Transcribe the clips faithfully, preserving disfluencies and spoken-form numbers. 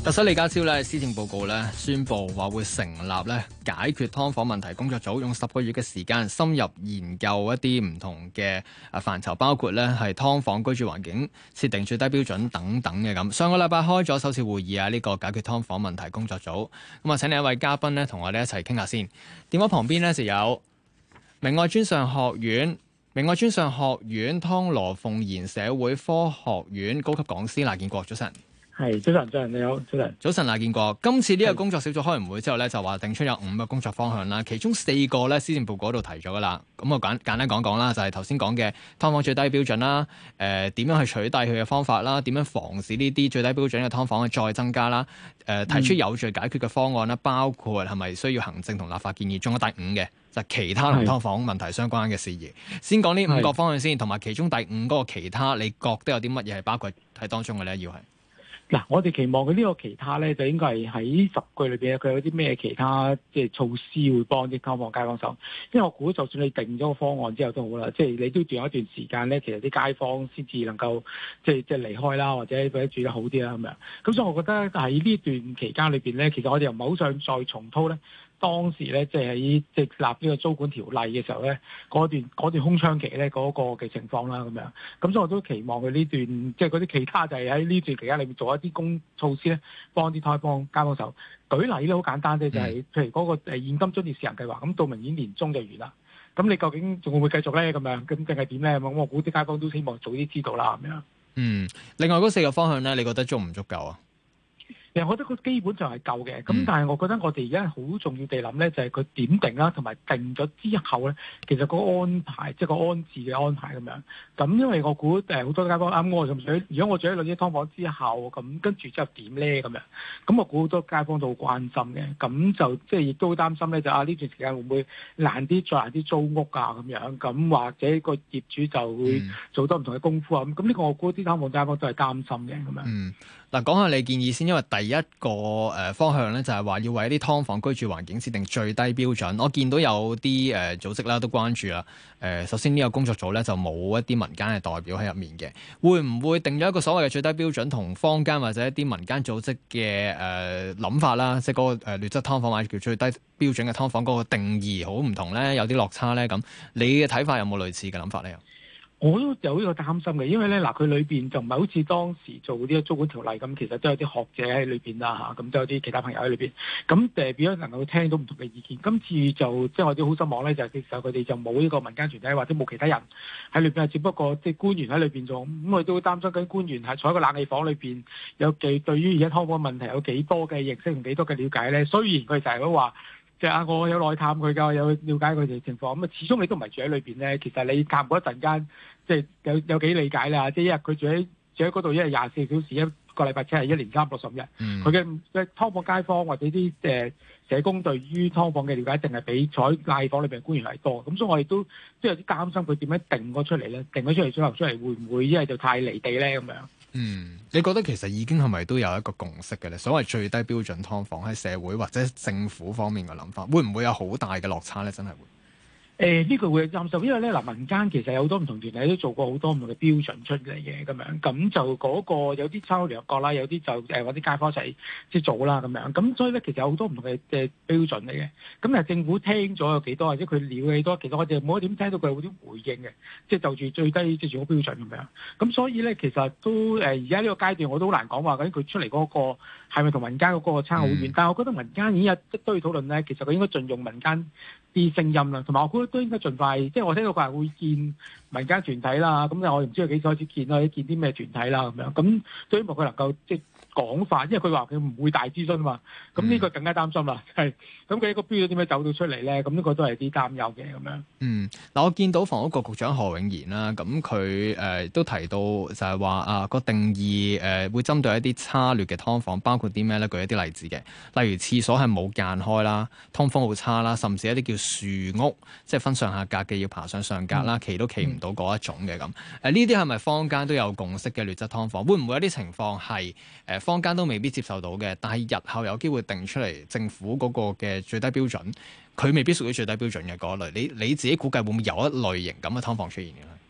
特首李家超咧施政報告咧宣布話會成立咧解決劏房問題工作組，用十個月嘅時間深入研究一啲唔同嘅啊範疇，包括咧係劏房居住環境設定最低標準等等嘅咁。上個禮拜開咗首次會議啊，呢個解決劏房問題工作組。咁啊，請另一位嘉賓咧同我哋一齊傾下先。電話旁邊咧就有明愛專上學院、明愛專上學院湯羅鳳賢社會科學院高級講師賴建國，早晨。 係，早晨，早晨，你好，早晨。 早晨，賴建國。今次呢個工作小組開完會之後咧，就話定出有五個工作方向啦，其中四個咧施政報告嗰度提咗噶啦。咁我簡簡單講講啦，就係頭先講嘅劏房最低標準啦，誒、呃、點樣去取締佢嘅方法啦，點樣防止呢啲最低標準嘅劏房再增加啦，誒、呃、提出有序解決嘅方案啦，包括係咪需要行政同立法建議，仲有第五嘅就係、其他同劏房問題相關嘅事宜。先講呢五個方向先，同埋其中第五嗰個其他，你覺得有啲乜嘢係包括喺當中嘅咧？要係？ 嗱，我哋期望佢呢個其他咧，就應該係喺十句裏邊，佢有啲咩其他即係措施會幫啲劏房街坊手。因為我估，就算你定咗個方案之後都好啦，即係你都仲有一段時間咧，其實啲街坊先至能夠即係即係離開啦，或者或者住得好啲啦咁樣。咁所以，我覺得喺呢段期間裏邊咧，其實我哋又唔係好想再重蹈咧。當時咧，即係喺即係立呢個租管條例嘅時候咧，嗰段嗰段空窗期咧，嗰個嘅情況啦，咁樣。咁所以我都期望佢呢段，即係嗰啲其他就係喺呢段期間裏面做一啲公措施咧，幫啲劏房街坊手。舉例咧，好簡單啫，就係、是、譬如嗰個誒現金津貼試行計劃，咁到明年年中就完啦。咁你究竟仲會唔會繼續咧？咁樣咁定係點咧？咁我估啲街坊都希望早啲知道啦，咁樣。 嗯，另外嗰四個方向咧，你覺得足唔足夠啊？ 其實我覺得佢基本上係夠嘅，咁但係我覺得我哋而家好重要地諗咧，就係佢點定啦，同埋定咗之後咧，其實個安排即係個安置嘅安排咁樣。咁因為我估誒好多街坊啱我咁想，如果我住喺兩間劏房之後，咁跟住之後點咧咁樣？咁我估好多街坊都好關心嘅，咁就即係亦都好擔心咧，就啊呢段時間會唔會難啲再難啲租屋啊咁樣？咁或者個業主就會做多唔同嘅功夫啊咁。咁呢個我估啲劏房街坊都係擔心嘅咁樣。 嗯，嗱講下你建議先，因為第一個誒方向咧就係話要為一啲劏房居住環境設定最低標準。我見到有啲誒組織啦都關注啦。誒首先呢個工作組咧就冇一啲民間嘅代表喺入面嘅，會唔會定咗一個所謂嘅最低標準同坊間或者一啲民間組織嘅誒諗法啦？即係嗰個誒劣質劏房或者叫最低標準嘅劏房嗰個定義好唔同咧，有啲落差咧咁。你嘅睇法有冇類似嘅諗法咧？ 我都有呢個擔心嘅，因為咧嗱，佢裏邊就唔係好似當時做呢個租管條例咁，其實都有啲學者喺裏邊啦嚇，咁都有啲其他朋友喺裏邊，咁誒變咗能夠聽到唔同嘅意見。今次就即係我哋好失望咧，就係其實佢哋就冇呢個民間團體或者冇其他人喺裏邊，只不過即係官員喺裏邊做。咁我哋都會擔心緊官員係坐喺個冷氣房裏邊，有幾對於而家劏房問題有幾多嘅認識同幾多嘅了解咧？雖然佢就係都話。即係啊！我有內探佢㗎，有了解佢哋情況。咁啊，始終你都唔係住喺裏邊咧。其實你探過一陣間，即係有有幾理解啦。即係一日佢住喺住喺嗰度，一日廿四小時，一個禮拜即係一年三百六十五日。佢嘅嘅劏房街坊或者啲誒社工對於劏房嘅了解，淨係比坐喺冷氣房裏邊官員係多。咁所以我哋都即係有啲擔心佢點樣定咗出嚟咧？定咗出嚟之後出嚟會唔會一係就太離地咧咁樣？ 嗯，你覺得其實已經係咪都有一個共識嘅咧？所謂最低標準劏房喺社會或者政府方面嘅諗法，會唔會有好大嘅落差咧？真係會？誒、 呃、呢、這個會擔心，因為咧嗱，民間其實有好多唔同團體都做過好多唔同嘅標準出嚟嘅咁樣，咁就嗰、那個有啲參考聯合國啦，有啲就誒揾啲街坊一齊即係做啦咁樣，咁所以咧其實有好多唔同嘅嘅標準嚟嘅，咁但係政府聽咗有幾多，或者佢了幾多，其實我哋冇一點聽到佢有啲回應嘅，即係就住最低即係住屋標準咁樣，咁所以咧其實都誒而家呢個階段我都好難講話究竟佢出嚟嗰個係咪同民間嗰個差好遠，嗯、但係我覺得民間已經有一堆討論咧，其實佢應該盡用民間啲聲音啦，同埋我估都應該盡快，即係我聽到佢係會見民間團體啦，咁我唔知佢幾時開始見啦，或者見啲咩團體啦咁樣，咁希望佢能夠即係講法，因為佢話佢唔會大諮詢嘛，咁呢個更加擔心啦，係咁佢一個標準點樣走到出嚟咧？咁呢個都係啲擔憂嘅咁樣。嗯， 嗱我見到房屋局局長何永賢啦，咁佢誒都提到就係話啊個定義誒、呃、會針對一啲差劣嘅劏房，包括啲咩咧？舉一啲例子嘅，例如廁所係冇間開啦，通風好差啦，甚至一啲叫樹屋，即係分上下格嘅要爬上上格啦，企都企唔到嗰一種嘅咁。誒呢啲係咪坊間都有共識嘅劣質劏房？會唔會有啲情況係誒坊間都未必接受到嘅，但係日後有機會定出嚟政府嗰個嘅最低標準，佢未必屬於最低標準嘅嗰類。你你自己估計會唔會有一類型咁嘅劏房出現嘅咧？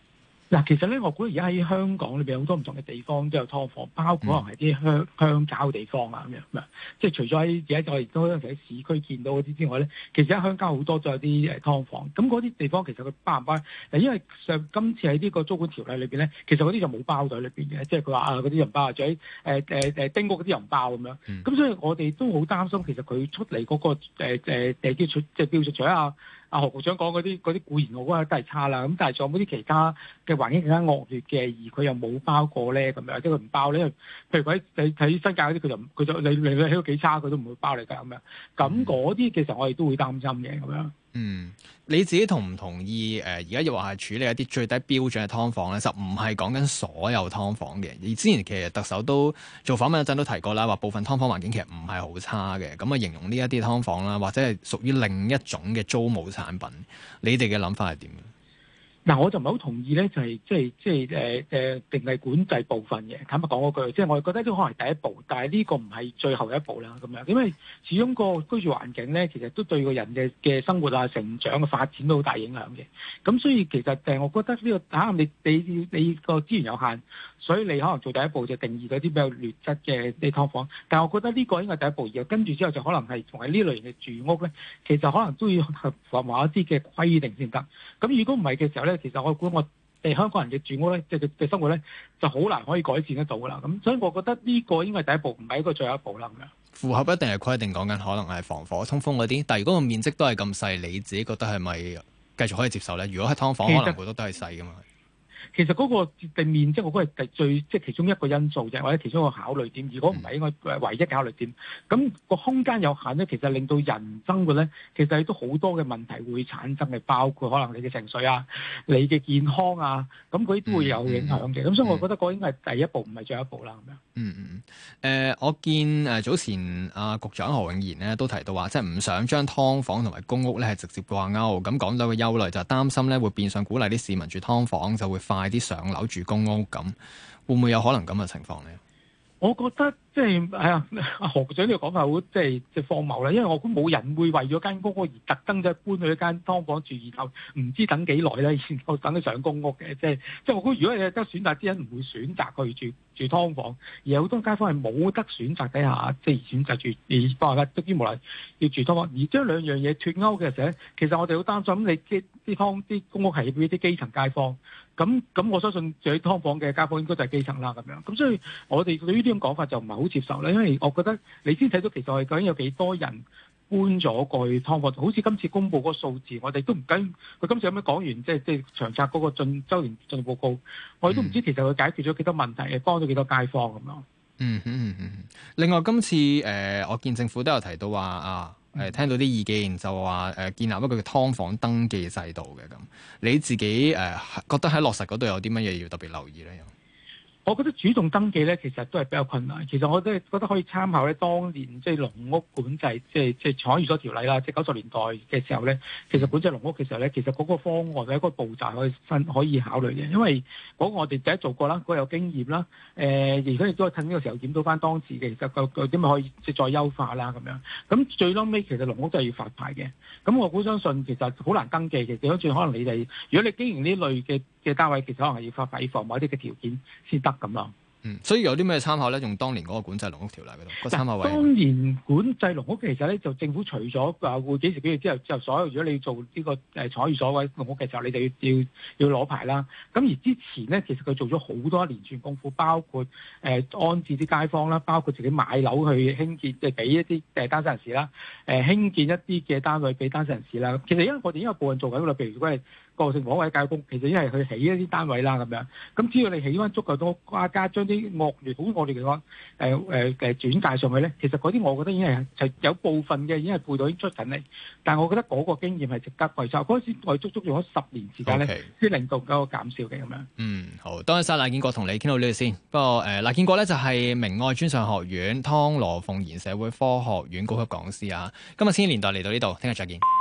嗱，其實咧，我估而家喺香港裏邊好多唔同嘅地方都有劏房，包括可能係啲鄉鄉郊地方啊咁樣咁樣。即係除咗喺而家我哋都有時喺市區見到嗰啲之外咧，其實喺鄉郊好多都有啲誒劏房。咁嗰啲地方其實佢包唔包？嗱，因為上今次喺呢個租管條例裏邊咧，其實嗰啲就冇包在裏邊嘅，即係佢話啊嗰啲又唔包，或者誒誒誒丁屋嗰啲又唔包咁樣。咁、嗯、所以我哋都好擔心，其實佢出嚟嗰、那個誒誒誒啲出即係標準除咗啊。阿何局長講嗰啲嗰啲固然我覺得都係差啦，咁但係仲有冇啲其他嘅環境更加惡劣嘅，而佢又冇包過咧咁樣，即係佢唔包咧。譬如佢喺睇新界嗰啲，佢就佢就你你你起到幾差，佢都唔會包你㗎咁樣。咁嗰啲其實我哋都會擔心嘅咁樣。 嗯，你自己同唔同意？誒、呃，而家又話係處理一啲最低標準嘅劏房咧，就唔係講緊所有劏房嘅。而之前其實特首都做訪問嗰陣都提過啦，話部分劏房環境其實唔係好差嘅。咁啊，形容呢一啲劏房啦，或者係屬於另一種嘅租務產品。你哋嘅諗法係點？ 嗱，我就唔係好同意咧，就係即係即係誒誒定係管制部分嘅。坦白講嗰句，即係我哋覺得呢個可能係第一步，但係呢個唔係最後一步啦。咁樣，因為始終個居住環境咧，其實都對個人嘅嘅生活啊、成長嘅發展都好大影響嘅。咁所以其實誒，我覺得呢個嚇你你你個資源有限，所以你可能做第一步就定義嗰啲比較劣質嘅啲劏房。但係我覺得呢個應該係第一步，然後跟住之後就可能係同埋呢類型嘅住屋咧，其實可能都要合符合一啲嘅規定先得。咁如果唔係嘅時候咧，其實我估我哋香港人嘅住屋咧，即係嘅生活咧，就好難可以改善得到噶啦。咁所以我覺得呢個應該係第一步，唔係一個最後一步啦。咁樣符合一定係規定，講緊可能係防火通風嗰啲。但係如果個面積都係咁細，你自己覺得係咪繼續可以接受咧？如果係劏房，可能好多都係細噶嘛。其實嗰個地面積，我覺得係最即係其中一個因素啫，或者其中一個考慮點。如果唔係，應該唯一考慮點。咁個空間有限咧，其實令到人生活咧，其實都好多嘅問題會產生嘅，包括可能你嘅情緒啊、你嘅健康啊，咁嗰啲都會有影響嘅。咁、嗯嗯、所以我覺得嗰應該係第一步，唔係最後一步啦。咁樣。嗯嗯嗯。誒、呃，我見誒早前阿、啊、局長何永賢咧都提到話，即係唔想將劏房同埋公屋咧係直接掛鈎。咁講到嘅憂慮就係擔心咧會變相鼓勵啲市民住劏房，就會快啲上樓住公屋，咁會唔會有可能咁嘅情況呢？ 我覺得即係係啊，阿何局長呢個講法好即係即係荒謬啦，因為我估冇人會為咗間公屋而特登就搬去一間劏房住，然後唔知等幾耐咧，然後等佢上公屋嘅，即係即係我估如果你有得選擇，啲人唔會選擇去住住劏房，而有好多街坊係冇得選擇底下，即係選擇住而包括得啲無奈要住劏房，而將兩樣嘢脫鈎嘅時候，其實我哋好擔心你啲啲劏啲公屋係俾啲基層街坊。咁咁，我相信住喺劏房嘅街坊應該就係基層啦，咁樣。咁所以我哋對於呢種講法就唔係好接受啦，因為我覺得你先睇到其實我哋究竟有幾多人搬咗過去劏房，好似今次公布嗰個數字，我哋都唔跟佢今次有咩講完，即係即係長策嗰個進週年進度報告，我哋都唔知其實佢解決咗幾多問題，幫咗幾多街坊咁樣。 嗯嗯嗯。另外今次誒、呃，我見政府都有提到話啊。誒、呃、聽到啲意見就話誒、呃、建立一個嘅劏房登記制度嘅，咁，你自己誒、呃、覺得喺落實嗰度有啲乜嘢要特別留意咧？ 我覺得主動登記咧，其實都係比較困難。其實我都係覺得可以參考咧，當年即係農屋管制，即係即係廠寓所條例啦，即係九十年代嘅時候咧，其實管制農屋嘅時候咧，其實嗰個方案或者一個步驟可以分可以考慮嘅，因為嗰個我哋第一做過啦，嗰、嗰個有經驗啦。誒、呃，而家亦都係趁呢個時候檢討翻當時嘅，其實個個點樣可以即係再優化啦咁樣。咁最撈尾其實農屋都係要發牌嘅。咁我估相信其實好難登記嘅，調翻轉可能你哋如果你經營呢類嘅嘅單位，其實可能係要發牌房某啲嘅條件先得咁咯。 嗯，所以有啲咩參考咧？用當年嗰個管制農屋條例嗰度個參考位。 當年管制農屋其實咧，就政府除咗話會幾時幾月之後之後，所有如果你做呢個誒廠寓所位農屋嘅時候，你就要要要攞牌啦。咁而之前咧，其實佢做咗好多一連串功夫，包括誒、呃、安置啲街坊啦，包括自己買樓去興建，即係俾一啲誒單身人士啦，誒、呃、興建一啲嘅單位俾單身人士啦。其實因為我哋已經有部分做緊啦，譬如如果係個性房或者教育工，其實已經係去起一啲單位啦咁樣。咁只要你起翻足夠多，加加將啲惡劣，好我哋嚟講，誒誒誒轉介上去咧，其實嗰啲我覺得已經係係有部分嘅已經係配套已經出緊嚟。但係我覺得嗰個經驗係值得維修。嗰陣時我哋足足用咗十年時間咧，先、okay. 令到嗰個減少嘅咁樣。嗯， 好，多謝晒賴建國同你傾到呢度先。不過誒，賴建國咧就係明愛專上學院湯羅鳳賢社會科學院高級講師啊。今日千禧年代嚟到呢度，聽日再見。